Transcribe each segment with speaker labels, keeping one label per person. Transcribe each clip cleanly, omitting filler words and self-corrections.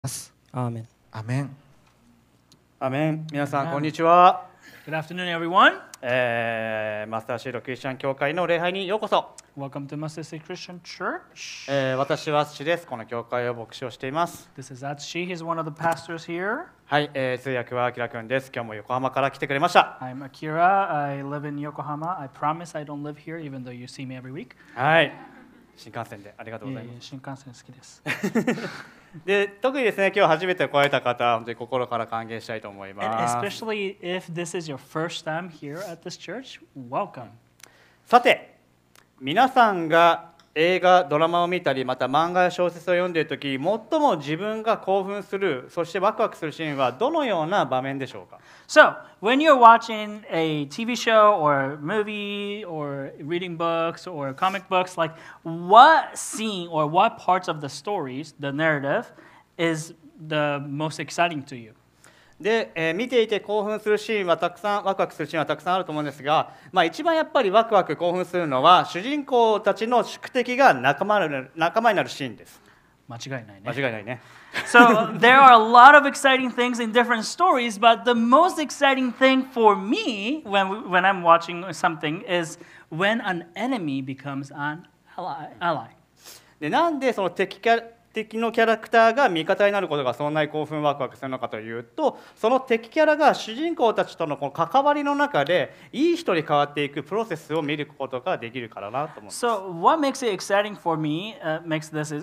Speaker 1: ます。
Speaker 2: アーメン。
Speaker 1: アメン。
Speaker 3: アメン。皆さんこんにちは。
Speaker 4: Good afternoon, everyone.
Speaker 3: マスターシードクリスチャン教会の礼拝にようこそ。
Speaker 4: Welcome to Mustard Seed Christian Church.
Speaker 3: 私は父です。この教会を牧師をしています。
Speaker 4: This is Atsushi. He's one of the pastors here.
Speaker 3: はい、通訳はアキラくんです。今日も横浜から来てくれました。
Speaker 4: I'm Akira. I live in Yokohama. I promise I don't live here, even though you see me every week.
Speaker 3: はい。新幹線でありがとうございます。
Speaker 4: 新幹線好きです。
Speaker 3: で、特にですね、今日初めて来られた方、本当に心から歓迎したいと思い
Speaker 4: And
Speaker 3: ます。
Speaker 4: especially if this is your first time here at this church, welcome.
Speaker 3: さて、皆さんが映画、ドラマを見たり、また漫画や小説を読んでいるとき、最も自分が興奮する、そしてワクワクするシーンはどのような場面でしょうか？
Speaker 4: So, when you're watching a TV show or movie or reading books or comic books, like what scene or what parts of the stories, the narrative, is the most exciting to you?
Speaker 3: で、見ていて興奮するシーンはたくさん、ワクワクするシーンはたくさんあると思うんですが、一番やっぱりワクワク興奮するのは主人公たちの宿敵が仲間になるシーンです。
Speaker 4: 間違いないね。
Speaker 3: 間違いないね。
Speaker 4: So there are a lot of exciting things in different stories, but the most exciting thing for me when I'm watching something is when an enemy becomes an ally.
Speaker 3: で、なんでその敵のキャラクターが味方になることがそんなに興奮ワクワクするのかというと、その敵キャラが主人公たちとのこの関わりの中でいい人に変わっていくプロセスを見ることができるからなと思うんです。
Speaker 4: So what makes it exciting for me, makes this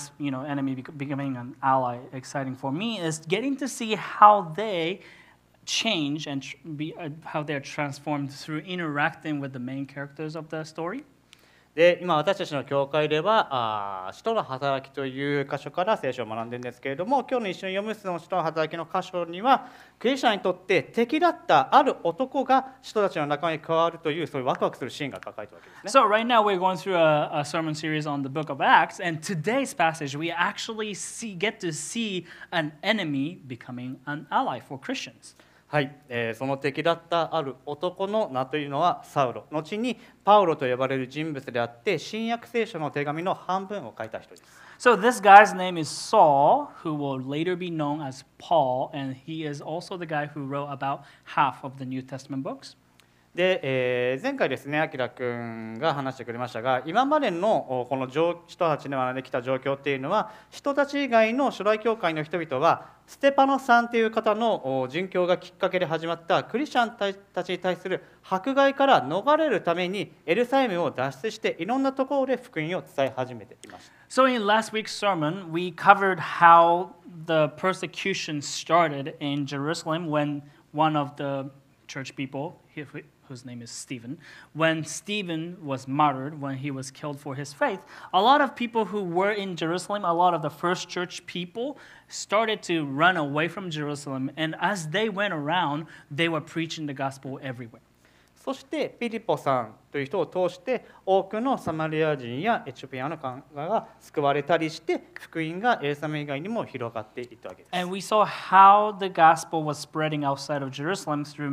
Speaker 4: enemy becoming an ally exciting for me, is getting to see how they change and how they are transformed through interacting with the main characters of the story.
Speaker 3: で、今私たちの教会では使徒の働きという箇所から聖書を学んでいるんですけれども、今日の一緒に読むその使徒の働きの箇所にはクリスチャンにとって敵だったある男が使徒たちの仲間に加わるというそういうワクワクするシーンが書かれているわけですね。
Speaker 4: So right now we're going through a sermon series on the book of Acts, and today's passage we actually get to see an enemy becoming an ally for Christians.
Speaker 3: はい、その敵だったある男の名というのはサウロ、後にパウロと呼ばれる人物であって新約聖書の手紙の半分を書いた人です。
Speaker 4: So this guy's name is Saul, who will later be known as Paul, and he is also the guy who wrote about half of the New Testament books.
Speaker 3: で、前回ですね、アキラ君が話してくれましたが、今までのこの人たちに学んできた状況っていうのは、人たち以外の初代教会の人々は、ステパノさんという方の殉教がきっかけで始まったクリスチャンたちに対する迫害から逃れるために、エルサレムを脱出して、いろんなところで福音を伝え始めていました。
Speaker 4: So in last week's sermon, we covered how the persecution started in Jerusalem when one of the church people, whose name is Stephen, when Stephen was martyred, when he was killed for his faith, a lot of people who were in Jerusalem, a lot of the first church people started to run away from Jerusalem, and as they went around, they were preaching the gospel everywhere.
Speaker 3: そしてピリポさんという人を通して多くのサマリア人やエチオピアの考えが救われたりして福音がエルサレム以外にも広がっていったわけです。
Speaker 4: And we saw how the gospel was spreading outside of Jerusalem through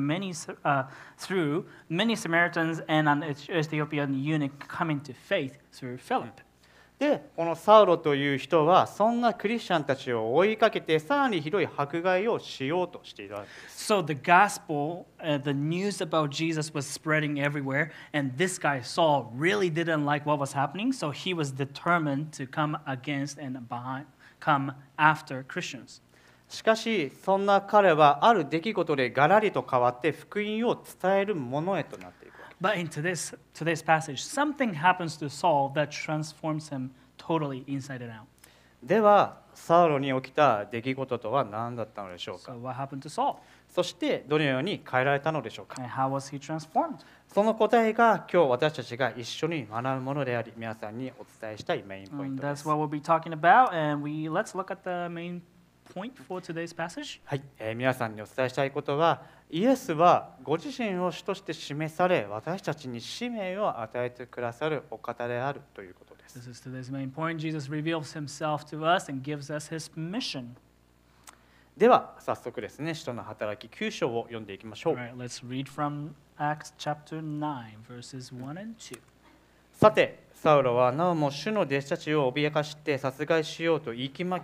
Speaker 4: many Samaritans and an Ethiopian eunuch coming to faith through Philip.
Speaker 3: で、このサウロという人はそんなクリスチャンたちを追いかけてさらにひどい迫害をしようとしているわけです。
Speaker 4: So the gospel, the news about Jesus was spreading everywhere, and this guy Saul really didn't like what was happening, so he was determined to come against and come after Christians.
Speaker 3: しかしそんな彼はある出来事でガラリと変わって福音を伝えるものへとなっていくわけです。
Speaker 4: But in today's passage, something happens to Saul that transforms him totally inside and out.
Speaker 3: ではサウロに起きた出来事とは何だったのでしょうか。
Speaker 4: So what happened to Saul?
Speaker 3: そしてどのように変えられたのでしょうか。
Speaker 4: And how was he transformed?
Speaker 3: その答えが今日私たちが一緒に学ぶものであり、皆さんにお伝えしたいメインポイン
Speaker 4: And
Speaker 3: トで
Speaker 4: that's
Speaker 3: す。
Speaker 4: what we'll be talking about, and let's look at the main point for today's passage.
Speaker 3: はい、皆さんにお伝えしたいことは、イエスはご自身を主として示され、私たちに使命を与えてくださるお方であるということです。
Speaker 4: This is today's main point. Jesus reveals himself to us and gives us his mission.
Speaker 3: では早速ですね、使徒の働き9章を読んでいきましょ
Speaker 4: All
Speaker 3: う。
Speaker 4: right, let's read from Acts chapter 9, verses 1 and 2.
Speaker 3: さて、サウロはなおも主の弟子たちを脅かして殺害しようと息巻き、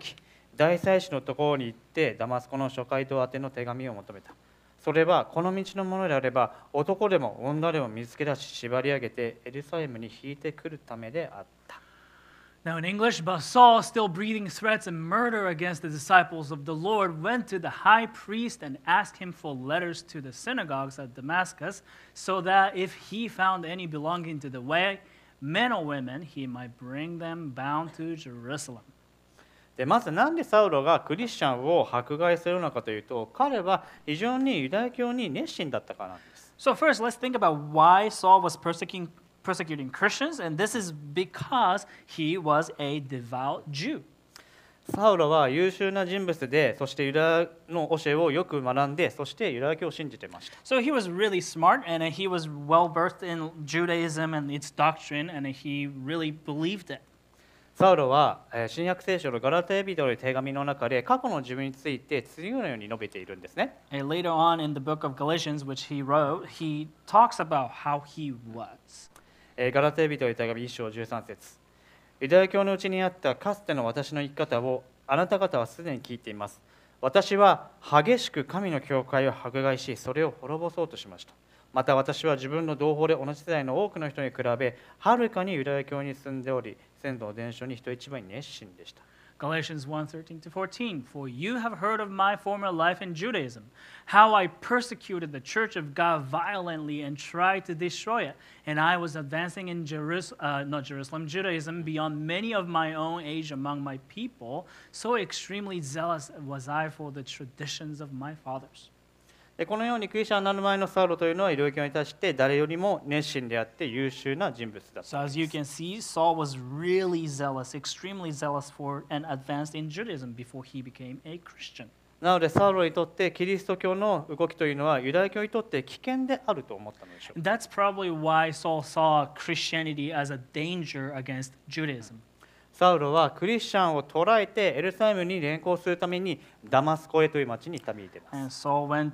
Speaker 3: 大祭司のところに行ってダマスコの諸街道宛ての手紙を求めた。それはこの道のものであれば男でも女でも見つけ出し縛り上げてエルサレムに引いてくるためであった。
Speaker 4: Now, in English, but Saul, still breathing threats and murder against the disciples of the Lord, went to the high priest and asked him for letters to the synagogues at Damascus, so that if he found any belonging to the way, men or women, he might bring them bound to Jerusalem.
Speaker 3: でまずなんでサウロがクリスチャンを迫害するのかというと、彼は非常にユダヤ教に熱心だったからなんです。
Speaker 4: So first, let's think about why Saul was persecuting Christians, and this is because he was a devout Jew.
Speaker 3: サウロは優秀な人物で、そしてユダヤの教えをよく学んで、そしてユダヤ教を信じていました。
Speaker 4: So he was really smart, and he was well versed in Judaism and its doctrine, and he really believed it.
Speaker 3: サウロは新約聖書のガラテヤ人の手紙の中で過去の自分について次のように述べているんですね。
Speaker 4: And later on in the book of Galatians, which he wrote, he talks about how he was.
Speaker 3: ガラテヤ人の手紙1章13節。ユダヤ教のうちにあったかつての私の生き方をあなた方はすでに聞いています。私は激しく神の教会を迫害し、それを滅ぼそうとしました。また私は自分の同胞で同じ世代の多くの人に比べ、はるかにユダヤ教に住んでおり、先祖の伝承に人一倍熱心でした。
Speaker 4: Galatians 1:13-14, For you have heard of my former life in Judaism, how I persecuted the church of God violently and tried to destroy it. And I was advancing in Judaism beyond many of my own age among my people. So extremely zealous was I for the traditions of my fathers.
Speaker 3: このようにクリスチャンになる前のサウロというのはユダヤ教に対して誰よりも熱心であって優秀な人物だった。
Speaker 4: So as you can see, Saul was really zealous, extremely zealous for and advanced in Judaism before he became a Christian.
Speaker 3: なのでサウロにとってキリスト教の動きというのはユダヤ教にとって危険であると思ったのでしょう。
Speaker 4: That's probably why Saul saw Christianity as a danger against Judaism.
Speaker 3: サウロはクリスチャンを捕らえてエルサレムに連行するためにダマスコへという町に旅に出ます。
Speaker 4: And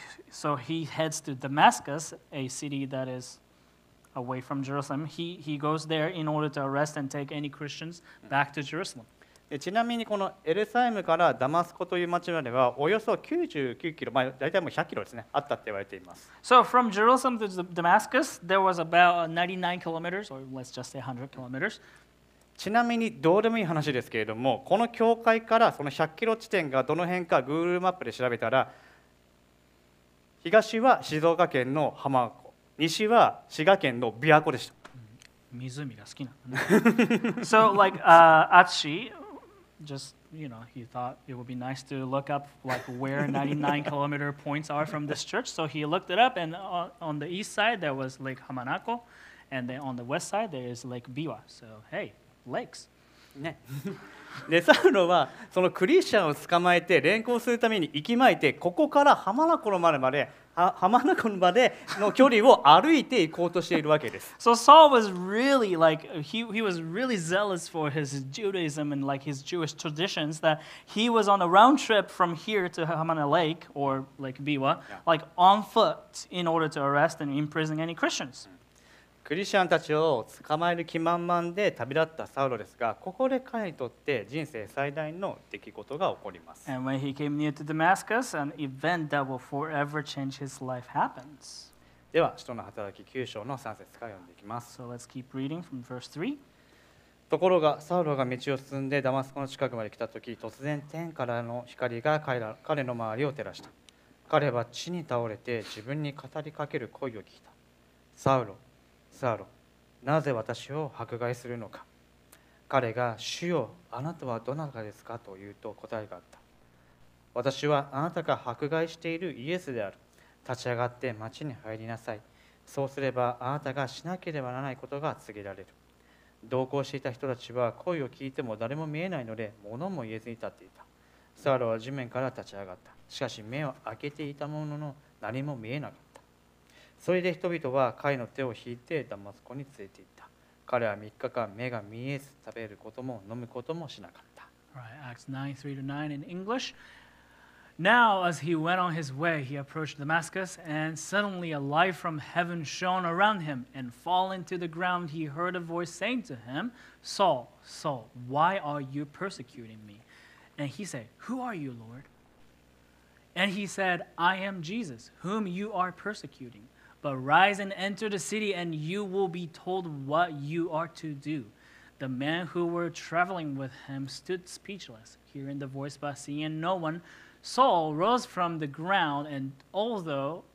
Speaker 4: so he heads to Damascus, a city that is away from Jerusalem. He goes there in order to arrest and take any Christians back to Jerusalem.
Speaker 3: ちなみにこのエルサレムからダマスコという町まではおよそ99キロ、大体もう100キロですね、あったって言われています。
Speaker 4: So from Jerusalem to Damascus, there was about 99 kilometers, or let's just say 100 kilometers.
Speaker 3: ちなみにどうでもいい話ですけれども、この教会からその100キロ地点がどの辺か Google マップで調べたら、東は静岡県の浜名湖、西は滋賀県の琵琶湖でした。
Speaker 4: 湖が好きなのね。So like Atsushi, just he thought it would be nice to look up like where 99 kilometer points are from this church. So he looked it up, and on the east side there was Lake Hamanako, and then on the west side there is Lake Biwa. So hey.Lakes.
Speaker 3: ね、でサウロはそのクリスチャンを捕まえて連行するために行きまいて、ここから浜名湖までの距離を歩いて行こうとしているわけです。
Speaker 4: So Saul was really like he was really zealous for his Judaism and like his Jewish traditions that he was on a round trip from here to Hamana Lake or Lake Biwa, like on foot in order to arrest and imprison any Christians.
Speaker 3: クリスチャンたちを捕まえる気満々で旅立ったサウロですが、ここで彼にとって人生最大の出来事が起こります。
Speaker 4: And when he came near to Damascus, an event that will forever change his life happens.
Speaker 3: では、使徒の働き9章の3節から読んでいきます。
Speaker 4: So let's keep reading from verse 3.
Speaker 3: ところが、サウロが道を進んでダマスコの近くまで来たとき、突然天からの光が彼の周りを照らした。彼は地に倒れて自分に語りかける声を聞いた。サウロ、サウロ、なぜ私を迫害するのか。彼が、主よ、あなたはどなたですかと言うと答えがあった。私はあなたが迫害しているイエスである。立ち上がって町に入りなさい。そうすればあなたがしなければならないことが告げられる。同行していた人たちは声を聞いても誰も見えないので物も言えずに立っていた。サウロは地面から立ち上がった。しかし目を開けていたものの何も見えなかった。それで人々は彼の手を引いてダマスコに連れて行った。彼は3日間目が見えず食べることも飲むこともしなかった。
Speaker 4: Right, Acts 9:3-9 in English. Now, as he went on his way, he approached Damascus, and suddenly a light from heaven shone around him, and falling to the ground, he heard a voice saying to him, Saul, Saul, why are you persecuting me? And he said, Who are you, Lord? And he said, I am Jesus, whom you are persecuting. But rise and enter the city, and you will be told what you are to do. The men who were traveling with him stood speechless, hearing the voice but seeing no one. Saul rose from the ground, and although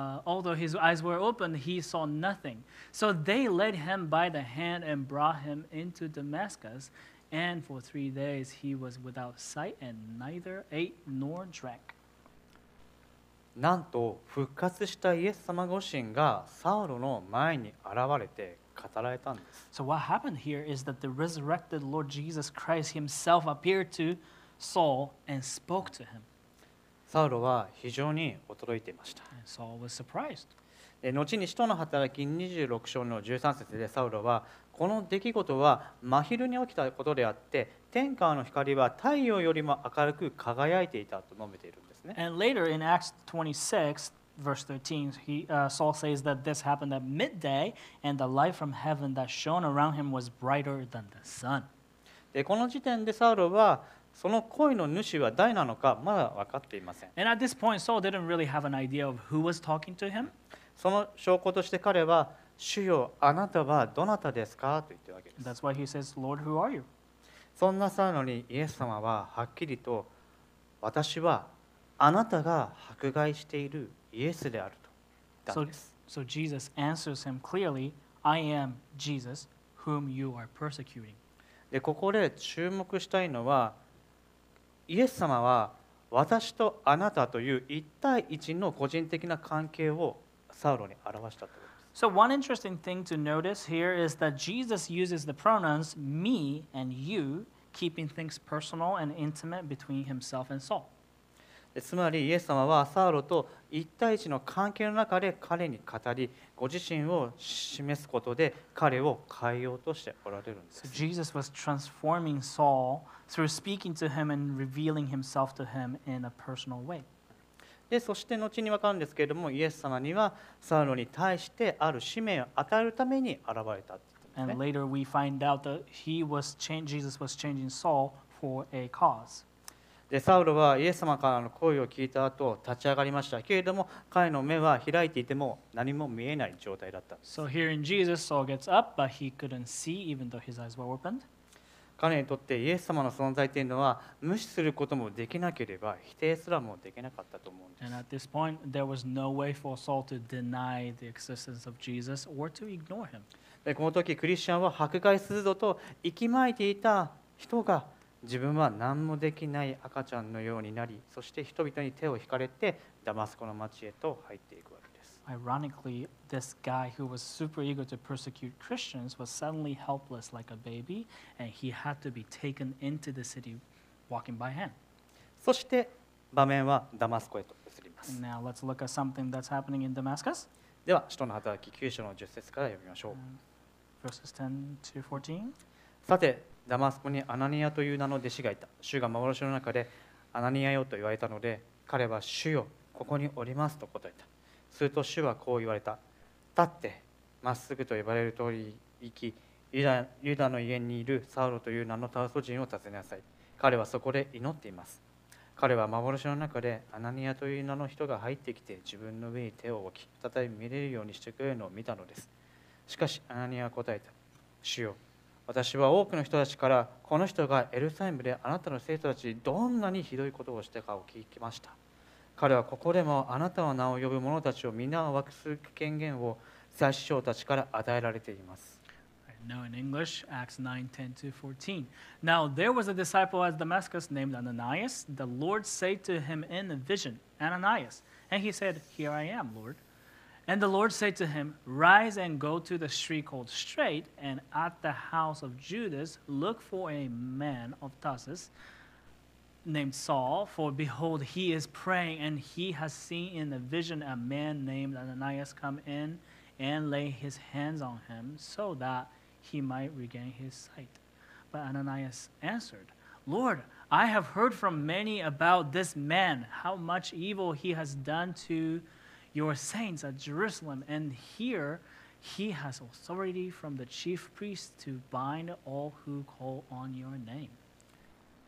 Speaker 4: his eyes were open, he saw nothing. So they led him by the hand and brought him into Damascus. And for 3 days he was without sight and neither ate nor drank.
Speaker 3: なんと復活したイエス様ご自身がサウロの前に現れて語られたんです。
Speaker 4: So what happened here is that the resurrected Lord Jesus Christ himself appeared to Saul and spoke to him.
Speaker 3: サウロは非常に驚いていました。
Speaker 4: And Saul was surprised.
Speaker 3: 後に使徒の働き26章の13節でサウロはこの出来事は真昼に起きたことであって天下の光は太陽よりも明るく輝いていたと述べているんですね。
Speaker 4: And later in Acts 26, verse 13, Saul says that this happened at midday, and the light from heaven that shone around him was brighter than the sun.
Speaker 3: でこの時点でサウロはその声の主は誰なのかまだ分かっていません。
Speaker 4: And at this point, Saul didn't really have an idea of who was talking to him.
Speaker 3: その証拠として彼は「主よあなたはどなたですか?」と言っているわけです。
Speaker 4: That's why he says, Lord, who are you?
Speaker 3: そんなサウロにイエス様ははっきりと「私はあなたが迫害しているイエスである」と言ったんです。
Speaker 4: So Jesus answers him clearly, I am Jesus, whom you are persecuting.
Speaker 3: でここで注目したいのはイエス様は私とあなたという一対一の個人的な関係をサウロに表したということです。
Speaker 4: So one interesting thing to notice here is that Jesus uses the pronouns me and you, keeping things personal and intimate between himself and Saul.
Speaker 3: でつまりイエス様はサウロと一対一の関係の中で彼に語りご自身を示すことで彼を変えようとしておられるんで
Speaker 4: So
Speaker 3: す。
Speaker 4: Jesus was transforming Saul through speaking to him and revealing himself to him in a personal way.
Speaker 3: でそして後に分かるんですけれどもイエス様にはサウロに対してある使命を与えるために現れたって言ってます
Speaker 4: And
Speaker 3: ね。
Speaker 4: later we find out that Jesus was changing Saul for a cause.
Speaker 3: でサウロはイエス様からの声を聞いた後立ち上がりましたけれども彼の目は開いていても何も見えない状態だったんです。
Speaker 4: So here in Jesus, Saul gets up, but he couldn't see even though his eyes were opened.
Speaker 3: 彼にとってイエス様の存在というのは無視することもできなければ否定すらもできなかったと思うんです。
Speaker 4: And at this point, there was no way for Saul to deny the existence of Jesus or to ignore him.
Speaker 3: でこの時クリスチャンは迫害するぞと息巻いていた人が自分は何もできない赤ちゃんのようになりそして人々に手を引かれてダマスコの町へと入っていくわけです。
Speaker 4: Ironically, this guy who was super eager to persecute Christians was suddenly helpless like a baby, and he had to be taken into the city walking by hand.
Speaker 3: そして場面はダマスコへと移ります。
Speaker 4: Now let's look at something that's happening in Damascus.
Speaker 3: では使徒の働き9章の10節から読みましょう。
Speaker 4: Verses 10 to 14.
Speaker 3: さてダマスコにアナニアという名の弟子がいた。主が幻の中でアナニアよと言われたので彼は主よここにおりますと答えた。すると主はこう言われた。立ってまっすぐと呼ばれる通り行きユダの家にいるサウロという名のタウソ人を訪ねなさい。彼はそこで祈っています。彼は幻の中でアナニアという名の人が入ってきて自分の上に手を置き再び見れるようにしてくれるのを見たのです。しかしアナニアは答えた。主よ私は多くの人たちからこの人がエルサレムであなたの生徒たちにどんなにひどいことをしたかを聞きました。彼はここでもあなたの名を呼ぶ者たちを皆を分けする権限を祭司長たちから与えられています。
Speaker 4: Now in English, Acts 9:10 to 14. Now there was a disciple at Damascus named Ananias. The Lord said to him in a vision, Ananias. And he said, Here I am, Lord. And the Lord said to him, Rise and go to the street called Straight, and at the house of Judas look for a man of Tarsus named Saul, for behold, he is praying, and he has seen in a vision a man named Ananias come in and lay his hands on him, so that he might regain his sight. But Ananias answered, Lord, I have heard from many about this man, how much evil he has done to your saints at Jerusalem, and here he has authority from the chief priests to bind all who call on your name.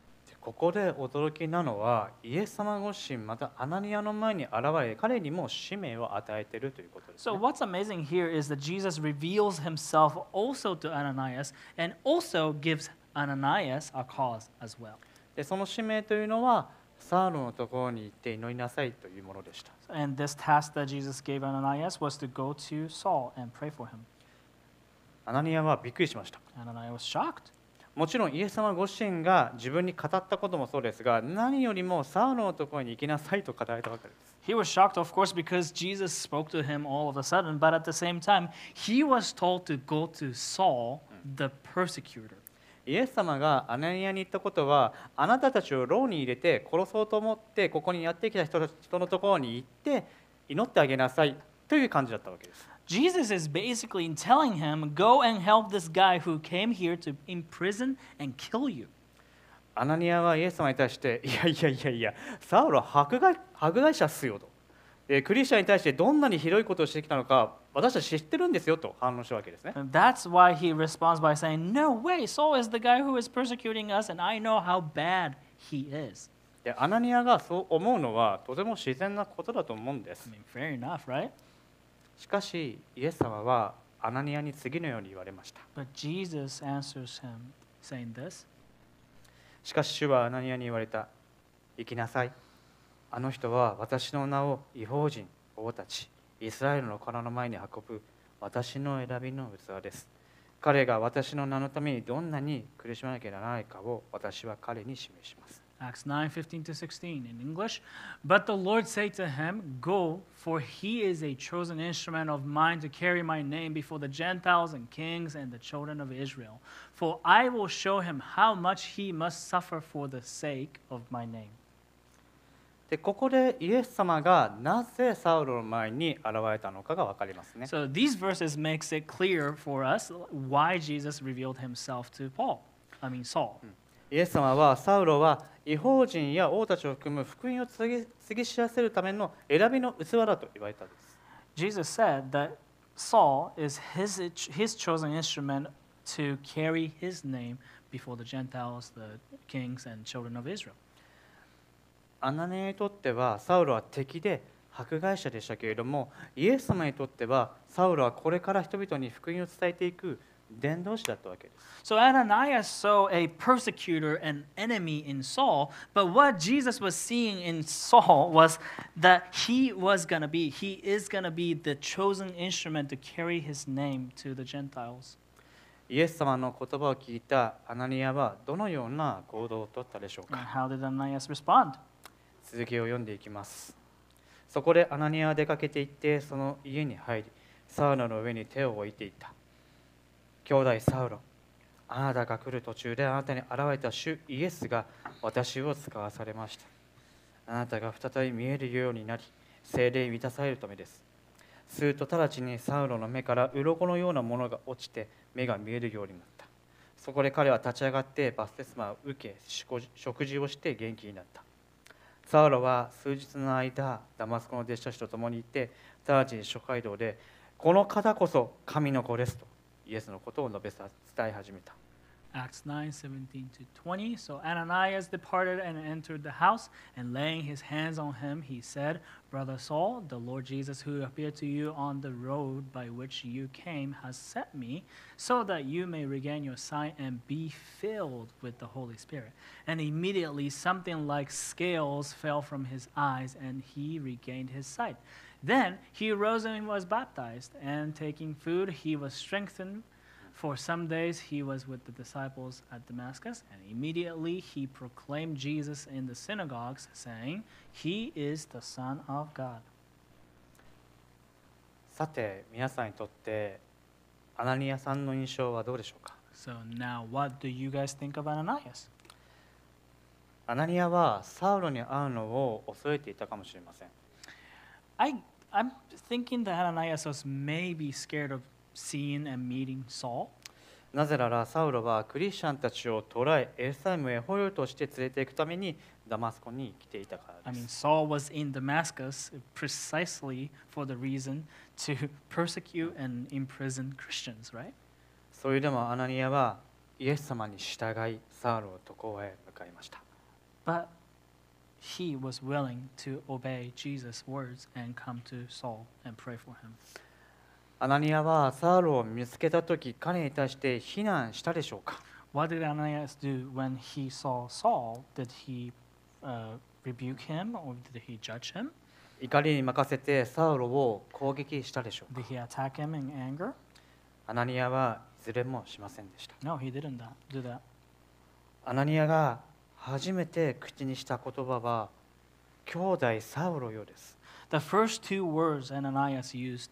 Speaker 3: ここで驚きなのは、イエス様ご自身、またアナニアの前に現れ、彼にも使命を与えているということです、
Speaker 4: So
Speaker 3: ね。
Speaker 4: what's amazing here is that Jesus reveals himself also to Ananias and also gives Ananias a cause as well.
Speaker 3: でその使命というのは、サウロのところに行って祈りなさいというものでした。
Speaker 4: And this task that Jesus gave Ananias was to go to Saul and pray for him.
Speaker 3: アナニアはびっくりしました。
Speaker 4: Ananias was shocked.
Speaker 3: もちろんイエス様ご自身が自分に語ったこともそうですが、何よりもサウロのところに行きなさいと語られたわけです。
Speaker 4: He was shocked, of course, because Jesus spoke to him all of a sudden, but at the same time, he was told to go to Saul, the persecutor.
Speaker 3: イエス様がアナニアに言ったことは、あなたたちを牢に入れて殺そうと思ってここにやってきた人のところに行って祈ってあげなさいという感じだったわけです。
Speaker 4: Jesus is basically telling him, go and help this guy who came here to imprison and kill you.
Speaker 3: アナニアはイエス様に対して、いや、サウロは迫害者っすよと。クリスチャンに対してどんなにひどいことをしてきたのか、私たち知ってるんですよと反論したわけですね。
Speaker 4: And that's why he responds by saying, no way, Saul is the guy who is persecuting us, and I know how bad he is.
Speaker 3: でアナニアがそう思うのはとても自然なことだと思うんです。
Speaker 4: I mean, fair enough, right?
Speaker 3: しかし、イエス様はアナニアに次のように言われました。
Speaker 4: But Jesus answers him, saying this,
Speaker 3: しかし主はアナニアに言われた。行きなさい。あの人は私の名を異邦人、王たち、イスラエルの殻の前に運ぶ私の選びの器です。彼が私の名のためにどんなに苦しまなきゃならないかを私は彼に示します。
Speaker 4: Acts 9:15 to 16 in English. But the Lord said to him, go, for he is a chosen instrument of mine to carry my name before the Gentiles and kings and the children of Israel. For I will show him how much he must suffer for the sake of my name.
Speaker 3: でここでイエス様がなぜサウロの前に現れたのかが分かりますね。
Speaker 4: So these verses makes it clear for us why Jesus revealed himself to Saul.
Speaker 3: イエス様はサウロは異邦人や王たちを含む福音を告げ知らせるための選びの器だと言われたんです。
Speaker 4: Jesus said that Saul is his chosen instrument to carry his name before the Gentiles, the kings, and children of Israel.
Speaker 3: アナニアにとってはサウロは敵で迫害者でしたけれども、イエス様にとってはサウロはこれから人々に福音を伝えていく伝道師だったわけです。
Speaker 4: So Ananias saw a persecutor and enemy in Saul, but what Jesus was seeing in Saul was that he is going to be the chosen instrument to carry his name to the Gentiles.
Speaker 3: イエス様の言葉を聞いたアナニアはどのような行動をとったでしょう
Speaker 4: And
Speaker 3: か。
Speaker 4: how did Ananias respond?
Speaker 3: 続きを読んでいきます。そこでアナニアは出かけて行ってその家に入り、サウロの上に手を置いていった。兄弟サウロ、あなたが来る途中であなたに現れた主イエスが私を使わされました。あなたが再び見えるようになり、聖霊に満たされるためです。すると直ちにサウロの目から鱗のようなものが落ちて目が見えるようになった。そこで彼は立ち上がってバプテスマを受け、食事をして元気になった。サウロは数日の間、ダマスコの弟子たちと共にいて、直ちに諸街道で、この方こそ神の子ですと、イエスのことを述べ伝え始めた。
Speaker 4: Acts 9:17 to 20. So Ananias departed and entered the house, and laying his hands on him, he said, Brother Saul, the Lord Jesus who appeared to you on the road by which you came has sent me, so that you may regain your sight and be filled with the Holy Spirit. And immediately something like scales fell from his eyes, and he regained his sight. Then he arose and was baptized, and taking food, he was strengthened. For some days he was with the disciples at Damascus, and immediately he proclaimed Jesus in the synagogues, saying, He is the Son of God.
Speaker 3: さて、皆さんにとってアナニアさんの印象はどうでしょうか。
Speaker 4: So now what do you guys think of Ananias?
Speaker 3: アナニアはサウロに会うのを恐れていたかもしれません。
Speaker 4: I'm thinking that Ananias was maybe scared of seeing and meeting Saul.
Speaker 3: なぜならサウロはクリスチャンたちを捕らえ、エルサレムへ捕虜として連れて行くためにダマスコに来ていたから
Speaker 4: I
Speaker 3: で
Speaker 4: mean,
Speaker 3: す。
Speaker 4: Saul was in Damascus precisely for the reason to persecute and imprison Christians, right?
Speaker 3: それでもアナニアはイエス様に従いサウロのところへ向かいました。
Speaker 4: But he was willing to obey Jesus' words and come to Saul and pray for him.
Speaker 3: アナニアはサウルを見つけたとき、彼に対して非難したでしょうか。
Speaker 4: What did Ananias do when he saw Saul? Did he rebuke him or did he judge him?
Speaker 3: 怒りに任せてサウルを攻撃したでしょうか。
Speaker 4: Did he attack him in anger?
Speaker 3: アナニアはいずれもしませんでした。
Speaker 4: No, he didn't do that.
Speaker 3: アナニアが初めて口にした言葉は兄弟サウロよです。
Speaker 4: The first two words Ananias used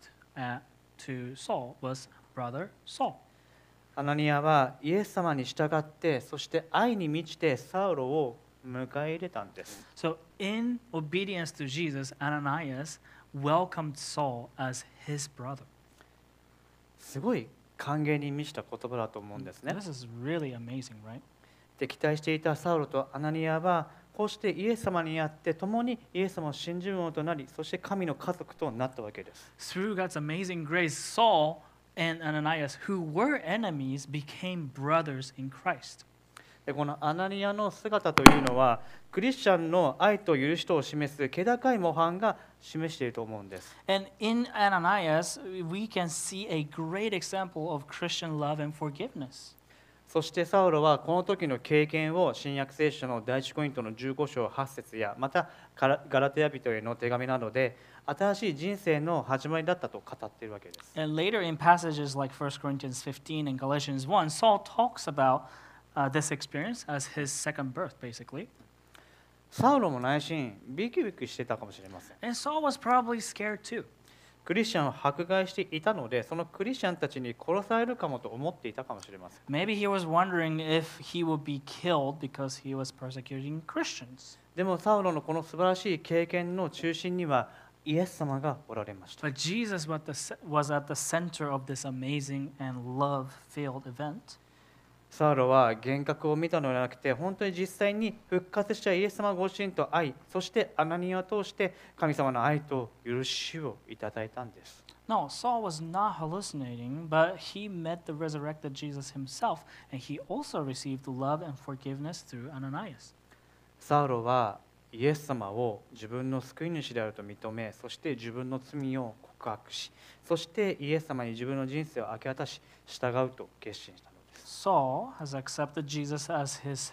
Speaker 4: to Saul was brother Saul.
Speaker 3: アナニアはイエス様に従って、そして愛に満ちてサウロを迎え入れたんです。
Speaker 4: So in obedience to Jesus, Ananias welcomed Saul as his brother.
Speaker 3: すごい歓迎に満ちた言葉だと思うんですね。
Speaker 4: This is really amazing, right?
Speaker 3: 敵対していたサウロとアナニアはこうしてイエス様にあって共にイエス様を信じる者となり、そして神の家族となったわけです。
Speaker 4: Through God's amazing grace, Saul and Ananias, who were enemies, became brothers in Christ.
Speaker 3: でこのアナニアの姿というのはクリスチャンの愛と許しとを示す気高い模範が示していると思うんです。
Speaker 4: And in Ananias, we can see a great example of Christian love and forgiveness.
Speaker 3: そしてサウロはこの時の経験を新約聖書の第一コリントの15章8節やまたガラテヤ人への手紙などで新しい人生の始まりだったと語っているわけです。
Speaker 4: And later in passages like 1 Corinthians 15 and Galatians 1, Saul talks about this experience as his second birth, basically.
Speaker 3: サウロも内心ビクビクしてたかもしれません。
Speaker 4: And Saul was probably scared too.
Speaker 3: クリスチャンを迫害していたので、そのクリスチャンたちに殺されるかもと思っていたかもしれません。
Speaker 4: Maybe he was wondering if he would be killed because he was persecuting Christians.
Speaker 3: でもサウロのこの素晴らしい経験の中心にはイエス様がおられました。
Speaker 4: But Jesus was at the center of this amazing and love-filled event.
Speaker 3: サウロは幻覚を見たのではなくて、本当に実際に復活したイエス様ご自身と愛、そしてアナニアを通して神様の愛と許しをいただいたんです。
Speaker 4: No, Saul was not hallucinating, but he met the resurrected Jesus himself, and he also received love and forgiveness through Ananias.
Speaker 3: サウロはイエス様を自分の救い主であると認め、そして自分の罪を告白し、そしてイエス様に自分の人生を明け渡し、従うと決心したのです。
Speaker 4: Saul has accepted Jesus as his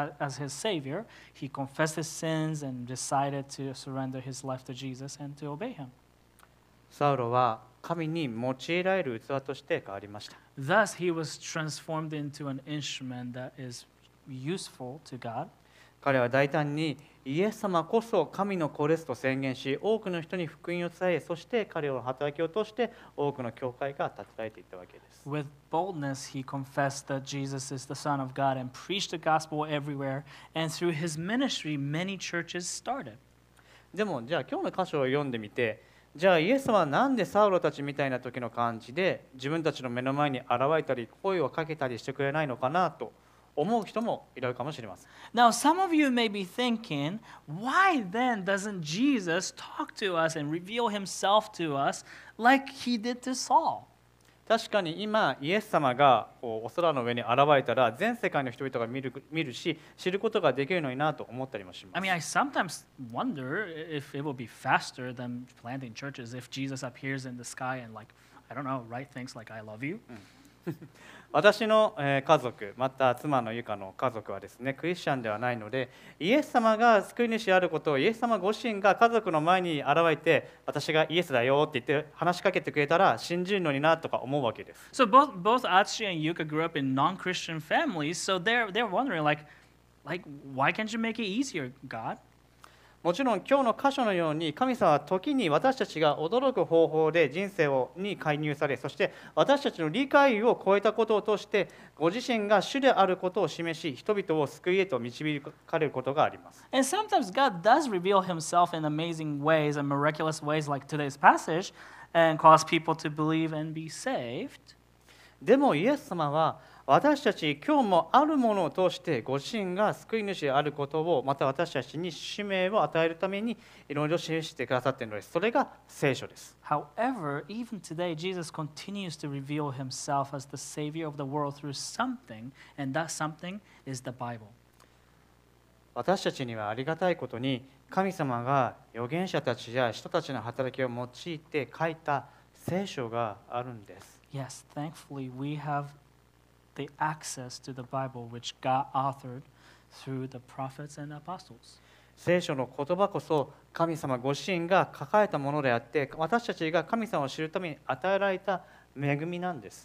Speaker 4: savior. He confessed his sins and decided to surrender his life to Jesus and to obey him.
Speaker 3: サウロは神に用いられる器として変わりました。
Speaker 4: Thus, he was transformed into an instrument that is useful to God.
Speaker 3: 彼は大胆にイエス様こそ神の子ですと宣言し、多くの人に福音を伝え、そして彼の働きを通して多くの教会が立てられていったわけです。
Speaker 4: With boldness, he confessed that Jesus is the Son of God and preached the gospel everywhere. And through his ministry, many churches started.
Speaker 3: でもじゃあ今日の箇所を読んでみて、じゃあイエス様はなんでサウロたちみたいな時の感じで自分たちの目の前に現れたり声をかけたりしてくれないのかなと思う人もいるかもしれません。
Speaker 4: Now, some of you may be thinking, why then doesn't Jesus talk to us and reveal himself to us like he did to Saul?
Speaker 3: 確かに今イエス様がお空の上に現れたら全世界の人々が見るし知ることができるのになと思ったりもしま
Speaker 4: I
Speaker 3: す。
Speaker 4: mean, I sometimes wonder if it would be faster than planting churches if Jesus appears in the sky and, like, I don't know, write things like I love you.
Speaker 3: 私の家族また妻のゆかの家族はですねクリスチャンではないのでイエス様が救い主であることをイエス様ご自身が家族の前に現れて私がイエスだよって言って話しかけてくれたら信じるのになとか思うわけです。
Speaker 4: So both Atsushi and Yuka grew up in non-Christian families, so they're wondering, like, why can't you make it easier, God?
Speaker 3: もちろん今日の箇所のように神様は時に私たちが驚く方法で人生に介入され、そして私たちの理解を超えたことを通してご自身が主であることを示し人々を救いへと導かれることがあります。
Speaker 4: And sometimes God does reveal himself in amazing ways and miraculous ways, like today's passage, and cause people to believe and be saved.
Speaker 3: でもイエス様は私たち今日もあるものを通してご自身が救い主であることをまた私たちに使命を与えるためにいろいろ示してくださっているのです。それが聖書です。
Speaker 4: However, even today, Jesus continues to reveal himself as the Savior of the world through something, and that something is the Bible.
Speaker 3: 私たちにはありがたいことに、神様が預言者たちや人たちの働きを用いて書いた聖書があるんです。
Speaker 4: Yes, thankfully, we have the access to the Bible which God authored through the prophets and apostles.
Speaker 3: 聖書の言葉こそ神様ご自身が書かれたものであって、私たちが神様を知るために与えられた恵みなんです。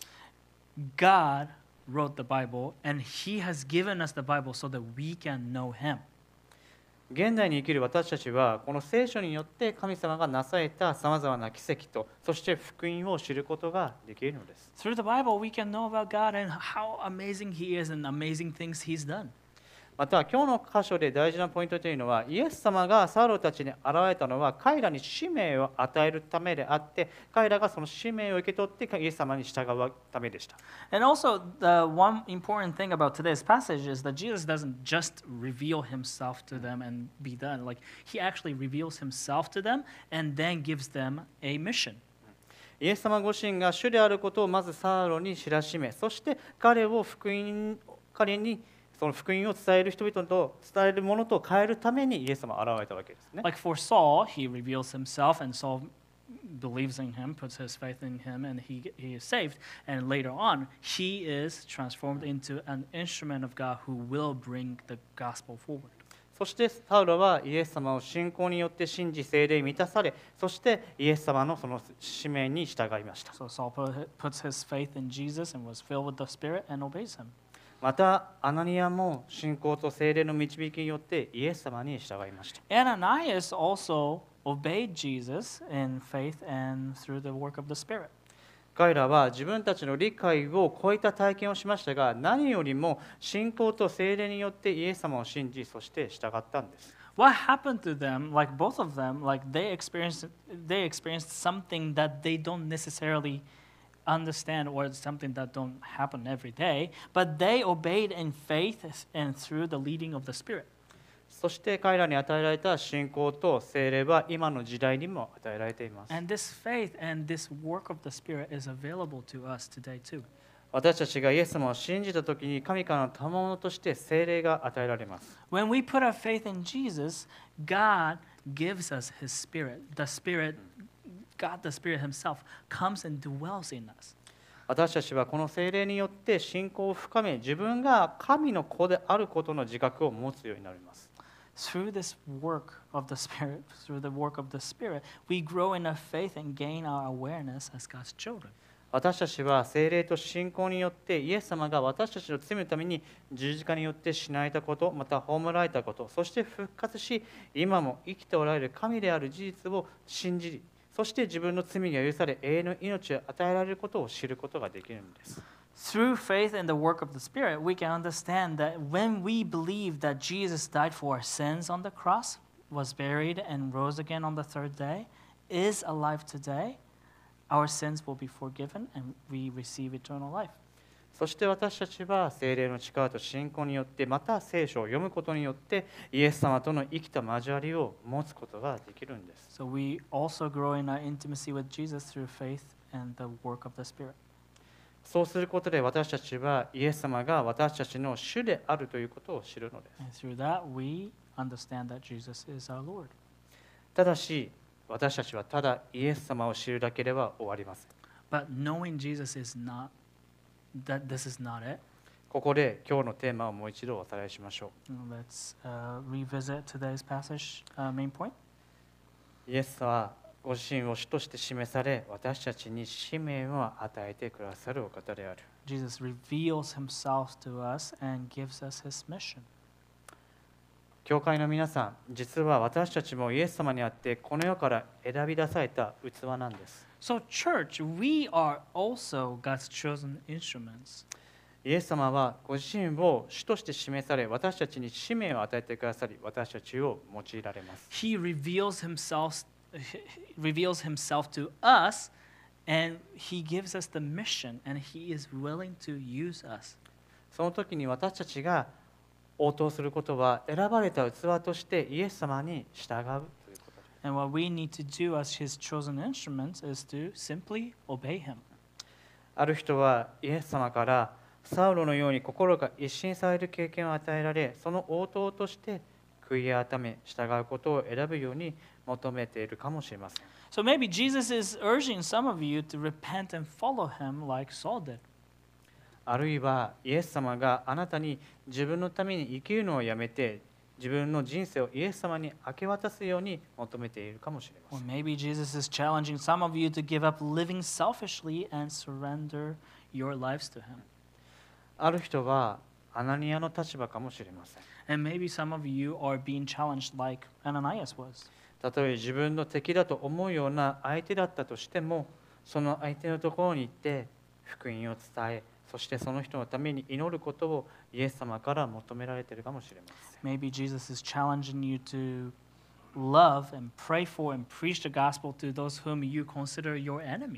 Speaker 4: God wrote the Bible, and He has given us the Bible so that we can know Him.
Speaker 3: 現代に生きる私たちはこの聖書によって神様がなされたさまざまな奇跡と、そして福音を知ることができるのです。
Speaker 4: Through the Bible, we can know about God and how amazing He is and amazing things He's done.
Speaker 3: また今日の箇所で大事なポイントというのは、イエス様がサウロたちに現れたのは彼らに使命を与えるためであって、彼らがその使命を受け取ってイエス様に従うためでした。
Speaker 4: And also, the one important thing about today's passage is that Jesus doesn't just reveal Himself to them and be done. Like, He actually reveals Himself to them and then gives them a mission.
Speaker 3: イエス様ご自身が主であることをまずサウロに知らしめ、そして彼にその福音を伝える人々と伝えるものと変えるためにイエス様は現れたわけですね。
Speaker 4: Like for Saul, he reveals himself, and Saul believes in him, puts his faith in him, and he is saved. And later on, he is transformed into an instrument of God who will bring the gospel forward.
Speaker 3: そしてサウロはイエス様を信仰によって信じ、聖霊に満たされ、そしてイエス様のその使命に従いました。
Speaker 4: So Saul puts his faith in Jesus and was filled with the Spirit and obeys him.
Speaker 3: またアナニアも信仰と聖霊の導きによってイエス様に従いました。
Speaker 4: Ananias also obeyed Jesus in faith and through the work of the Spirit.
Speaker 3: 彼らは自分たちの理解を超えた体験をしましたが、何よりも信仰と聖霊によってイエス様を信じ、そして従ったんです。
Speaker 4: What happened to them, like both of them, like they experienced something that they don't necessarily understand, or something that don't happen every day, but they obeyed in faith and through the leading of the Spirit.
Speaker 3: そして彼らに与えられた信仰と聖霊は今の時代にも与えられています。
Speaker 4: And this faith and this work of the Spirit is available to us today too.
Speaker 3: 私たちがイエス様を信じたときに神からの賜物として聖霊が与えられます。
Speaker 4: When we put our faith in Jesus, God gives us His Spirit. God the Spirit Himself comes and dwells in us.
Speaker 3: 私たちはこの聖霊によって信仰を深め、自分が神の子であることの自覚を持つようになります。
Speaker 4: Through this work of the Spirit, we grow in our faith and gain our awareness as God's children.
Speaker 3: 私たちは聖霊と信仰によってイエス様が私たちの罪のために十字架によって死なれたこと、また葬られたこと、そして復活し、今も生きておられる神である事実を信じ、そして自分の罪が許され永遠の命を与えられることを知ることができるんです。
Speaker 4: Through faith in the work of the Spirit, we can understand that when we believe that Jesus died for our sins on the cross, was buried and rose again on the third day, is alive today, our sins will be forgiven and we receive eternal life.
Speaker 3: そして私たちは聖霊の力と信仰によって、また聖書を読むことによってイエス様との生きた交わりを持つことができるんです。
Speaker 4: So we also grow in our intimacy with Jesus through faith and the work of the Spirit.
Speaker 3: そうすることで私たちはイエス様が私たちの主であるということを知るのです。
Speaker 4: And through that, we understand that Jesus is our Lord.
Speaker 3: ただし、私たちはただイエス様を知るだけでは終わりません。
Speaker 4: But knowing Jesus is not, that this is not it.
Speaker 3: ここで今日のテーマをもう一度おさらいしましょ
Speaker 4: Let's revisit today's passage main point.
Speaker 3: う。イエスはご自身を主として示され、私たちに使命を与えてくださるお方である。
Speaker 4: Jesus reveals himself to us and gives us his mission.
Speaker 3: 教会の皆さん、実は私たちもイエス様にあってこの世から選び出された器なんです。
Speaker 4: So church, we are also God's chosen instruments.
Speaker 3: イエス様はご自身を主として示され、私たちに使命を与えてくださり、私たちを用いられます。
Speaker 4: He reveals himself to us, and he gives us the mission, and he is willing to use us.
Speaker 3: その時に私たちが応答することは、選ばれた器としてイエス様に従うということです。
Speaker 4: And what we need to do as his chosen instruments is to simply obey him.
Speaker 3: ある人はイエス様からサウロのように心が一新される経験を与えられ、その応答として悔い改め従うことを選ぶように求めているかもしれません。
Speaker 4: So maybe Jesus is urging some of you to repent and follow him like Saul did.
Speaker 3: あるいはイエス様があなたに自分のために生きるのをやめて自分の人生をイエス様に明け渡すように求めているかもしれま
Speaker 4: Or
Speaker 3: せん。
Speaker 4: maybe Jesus is challenging some of you to give up living selfishly and surrender your lives to him.
Speaker 3: ある人はアナニアの立場かもしれません。
Speaker 4: And maybe some of you are being challenged like Ananias was.
Speaker 3: たとえ自分の敵だと思うような相手だったとしても、その相手のところに行って福音を伝え、そしてその人のために祈ることをイエス様から求められているかもしれません。
Speaker 4: Maybe Jesus is challenging you to love and pray for and preach the gospel to those whom you consider your enemy.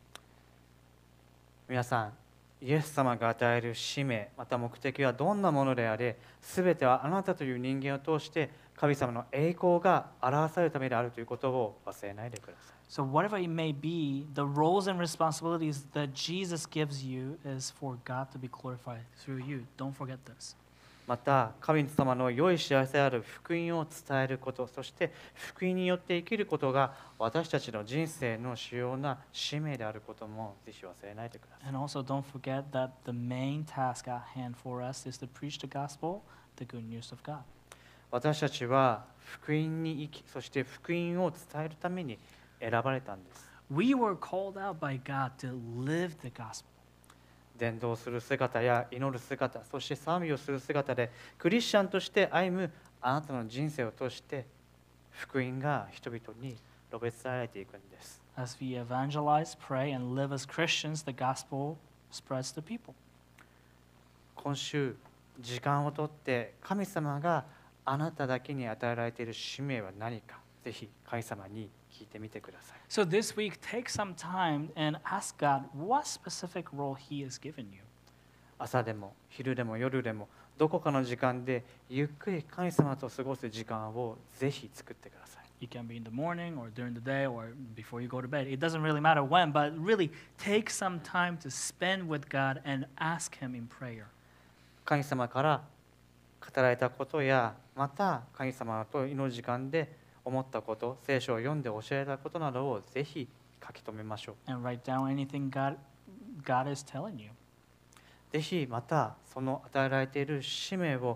Speaker 3: 皆さん、イエス様が与える使命、また目的はどんなものであれ、すべてはあなたという人間を通して神様の栄光が表されるためであるということを忘れないでください。
Speaker 4: So, whatever it may be, the roles and responsibilities that Jesus gives you is for God to be glorified through you. Don't forget this.
Speaker 3: また神様の良い幸せである福音を伝えること、そして福音によって生きることが私たちの人生の主要な使命であることもぜひ忘れないでください。
Speaker 4: And also, don't forget that the main task at hand for us is to preach the gospel, the good news of God.
Speaker 3: 私たちは福音に生き、そして福音を伝えるために選ばれたんです。
Speaker 4: We were called out by God to live the gospel.
Speaker 3: 伝道する姿や祈る姿、そして賛美をする姿でクリスチャンとして歩むあなたの人生を通して福音が人々に述べ伝えられていくんです。
Speaker 4: As we evangelize, pray, and live as Christians, the gospel spreads to people.
Speaker 3: 今週時間をとって神様があなただけに与えられている使命は何か、ぜひ神様に聞いてみてください。
Speaker 4: So this week, take some time and ask God what specific role He has given you.
Speaker 3: 朝でも昼でも夜でもどこかの時間でゆっくり神様と過ごす時間をぜひ作ってください。
Speaker 4: It can be in the morning or during the day or before you go to bed. It doesn't really matter when, but really take some time to spend with God and ask Him in prayer.
Speaker 3: 神様から語られたことや、また神様と祈る時間で思ったこと、聖書を読んで教えられたことなどをぜひ書き留めましょう。
Speaker 4: And write down anything God is telling you.
Speaker 3: ぜひまたその与えられている使命を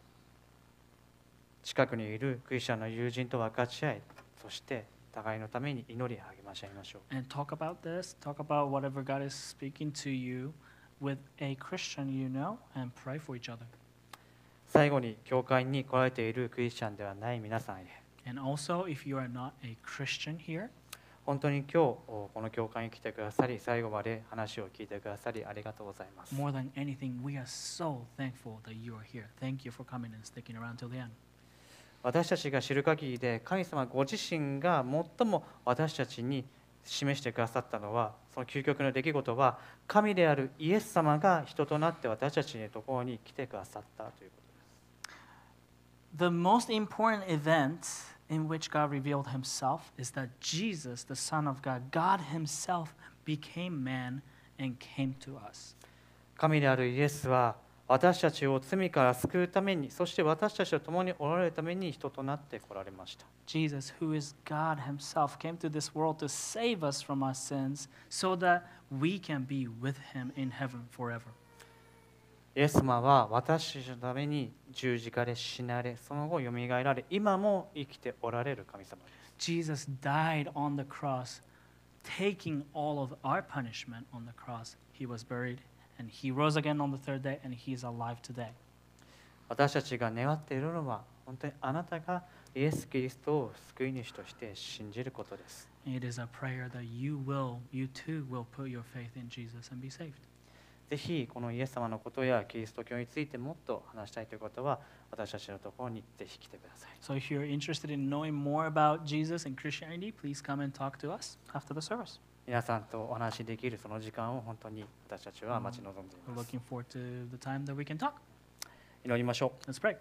Speaker 3: 近くにいるクリスチャンの友人と分かち合い、そして互いのために祈り励まし合いましょう。
Speaker 4: And talk about this, talk about whatever God is speaking to you with a Christian you know, and pray for each other.
Speaker 3: 最後に教会に来られているクリスチャンではない皆さんへ、
Speaker 4: And also, if you are not a Christian here,
Speaker 3: 本当に今日この教会に来てくださり、最後まで話を聞いてくださりありがとうございます。
Speaker 4: more than anything, we are so thankful that you are here. Thank you for coming and sticking around till the end.
Speaker 3: 私たちが知る限りで神様ご自身が最も私たちに示してくださったのは、その究極の出来事は神であるイエス様が人となって私たちのところに来てくださったということです。
Speaker 4: The most important event in which God revealed himself is that Jesus, the Son of God, God himself became man and came to us.
Speaker 3: 神であるイエスは私たちを罪から救うために、そして私たちと共におられるために人となって来られました。
Speaker 4: Jesus, who is God himself, came to this world to save us from our sins so that we can be with him in heaven forever.
Speaker 3: イエス様は私たちのために十字架で死なれ、その後よみがえられ、今も生きておられる神様です。
Speaker 4: Jesus died on the cross, taking all of our punishment on the cross. He was buried, and he rose again on the third day, and he is alive today.
Speaker 3: 私たちが願っているのは、本当にあなたがイエス・キリストを救い主として信じることです。
Speaker 4: It is a prayer that you too will put your faith in Jesus and be saved.
Speaker 3: ぜひこのイエス様のことやキリスト教についてもっと話したいということは、私たちのところにぜひ来てください。
Speaker 4: So if you're interested in knowing more about Jesus and Christianity, please come and talk to us after the service.
Speaker 3: 皆さんとお話しできるその時間を本当に私たちは待ち望んでい
Speaker 4: We're
Speaker 3: ます。
Speaker 4: looking forward to the time that we can talk.
Speaker 3: 祈りましょう。
Speaker 4: Let's pray.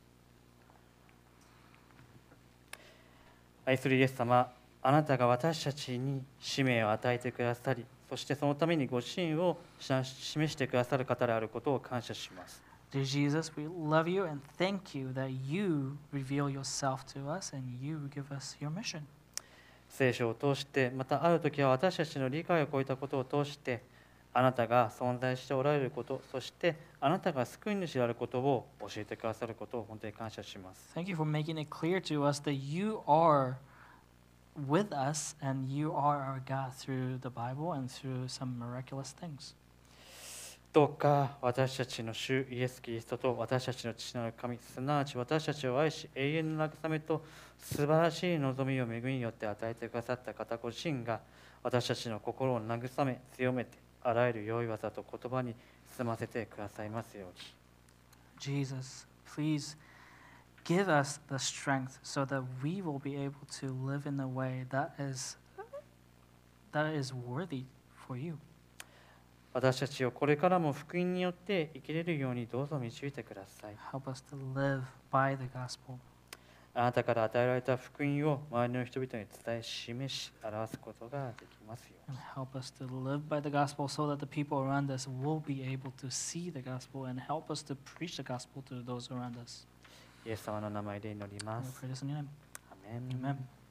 Speaker 3: 愛するイエス様、あなたが私たちに使命を与えてくださり、そしてそのためにご支援を示してくださる方であることを感謝します。
Speaker 4: Dear Jesus, we love you and thank you that you reveal yourself to us and you give us your mission.
Speaker 3: 聖書を通して、またある時は私たちの理解を超えたことを通して、あなたが存在しておられること、そしてあなたが救い主であることを教えてくださることを本当に感謝します。
Speaker 4: Thank you for making it clear to us that you are with us and you are our God through the Bible and through some miraculous things.
Speaker 3: どうか私たちの主イエス・キリストと私たちの父なる神、すなわち私たちを愛し永遠の慰めと素晴らしい望みを恵みによって与えてくださった方ご自身が私たちの心を慰め強めてあらゆる良い技と言葉に包ませてくださいますように。
Speaker 4: Jesus, please give us the strength so that we will be able to live in a way that is worthy for you.
Speaker 3: 私たちをこれからも福音によって生きれるようにどうぞ導いてください。
Speaker 4: Help us to live by the gospel.
Speaker 3: あなたから与えられた福音を周りの人々に伝え示し表すことができますよう
Speaker 4: And
Speaker 3: に。
Speaker 4: help us to live by the gospel so that the people around us will be able to see the gospel and help us to preach the gospel to those around us.
Speaker 3: イエス様の名前で祈りま
Speaker 4: We
Speaker 3: す。
Speaker 4: pray this in your name.
Speaker 3: アメン。
Speaker 4: Amen.